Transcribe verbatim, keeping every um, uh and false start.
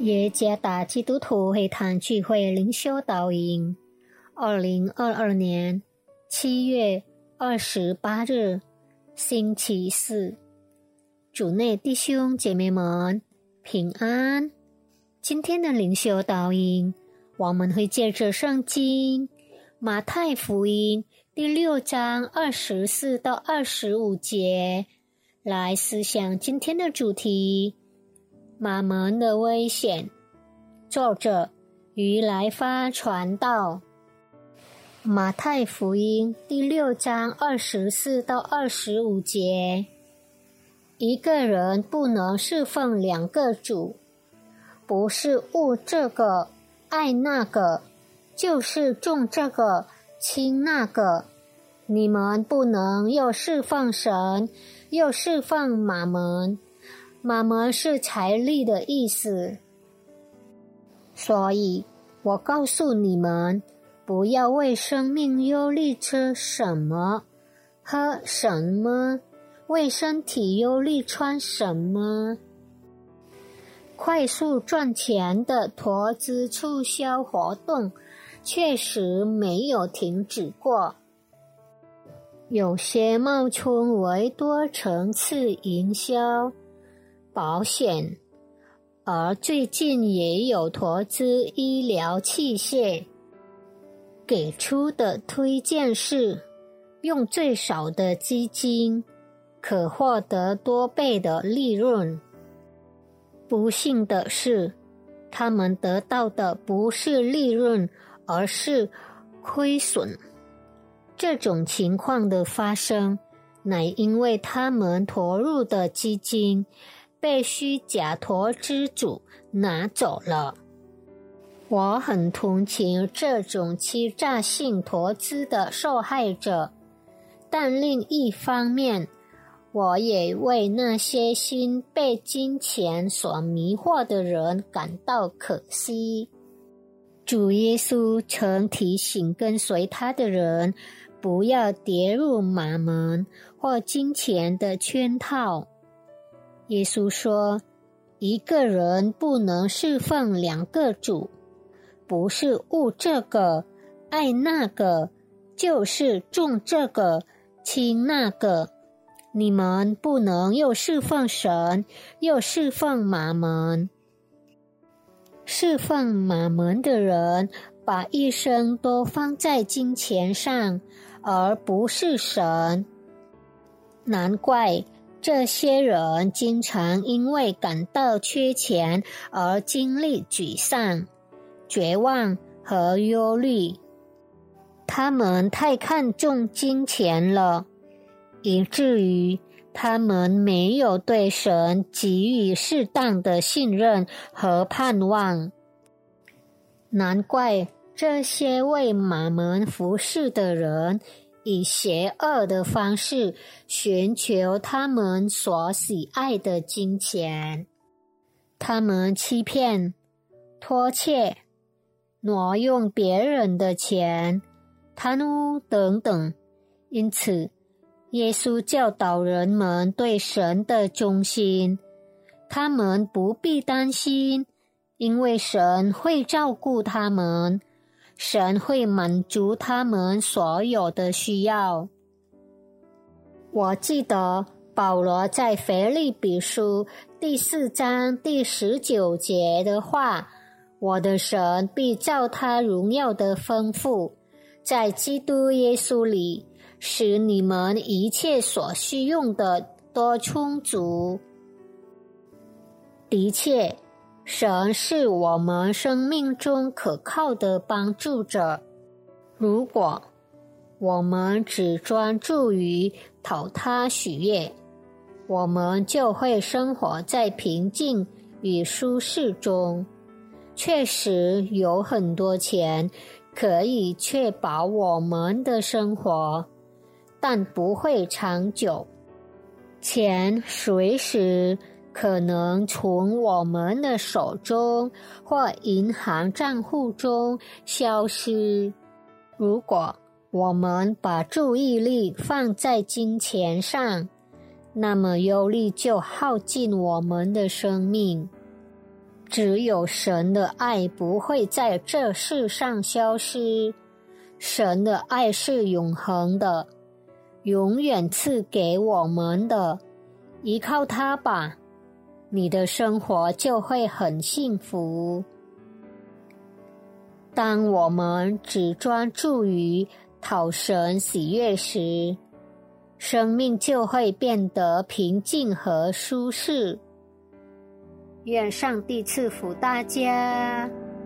耶加达基督徒会堂聚会灵修导引，二零二二年七月二十八日，星期四。主内弟兄姐妹们平安。今天的灵修导引，我们会借着圣经马太福音第六章二十四到二十五节来思想今天的主题：马门的危险。作者于来发传道。马太福音第六章二十四到二十五节，一个人不能侍奉两个主，不是恶这个爱那个，就是重这个轻那个。你们不能又侍奉神，又侍奉马门。马门是财力的意思。所以我告诉你们，不要为生命忧虑吃什么喝什么，为身体忧虑穿什么。快速赚钱的投资促销活动确实没有停止过，有些冒充为多层次营销保险，而最近也有投资医疗器械。给出的推荐是，用最少的基金可获得多倍的利润。不幸的是，他们得到的不是利润，而是亏损。这种情况的发生，乃因为他们投入的基金被虚假投资主拿走了。我很同情这种欺诈性投资的受害者，但另一方面，我也为那些心被金钱所迷惑的人感到可惜。主耶稣曾提醒跟随他的人，不要跌入马门或金钱的圈套。耶稣说，一个人不能侍奉两个主，不是恶这个爱那个，就是重这个轻那个。你们不能又侍奉神，又侍奉马门。侍奉马门的人把一生都放在金钱上，而不是神。难怪这些人经常因为感到缺钱而经历沮丧、绝望和忧虑。他们太看重金钱了，以至于他们没有对神给予适当的信任和盼望。难怪这些为马门服侍的人以邪恶的方式寻求他们所喜爱的金钱。他们欺骗、拖窃、挪用别人的钱、贪污等等。因此，耶稣教导人们对神的忠心。他们不必担心，因为神会照顾他们，神会满足他们所有的需要。我记得保罗在腓立比书第四章第十九节的话，我的神必照他荣耀的丰富，在基督耶稣里，使你们一切所需用的都充足。的确，神是我们生命中可靠的帮助者。如果我们只专注于讨他喜悦，我们就会生活在平静与舒适中。确实有很多钱可以确保我们的生活，但不会长久。钱随时可能从我们的手中或银行账户中消失。如果我们把注意力放在金钱上，那么忧虑就耗尽我们的生命。 只有神的爱不会在这世上消失，神的爱是永恒的，永远赐给我们的，依靠它吧，你的生活就会很幸福。当我们只专注于讨神喜悦时，生命就会变得平静和舒适。愿上帝赐福大家。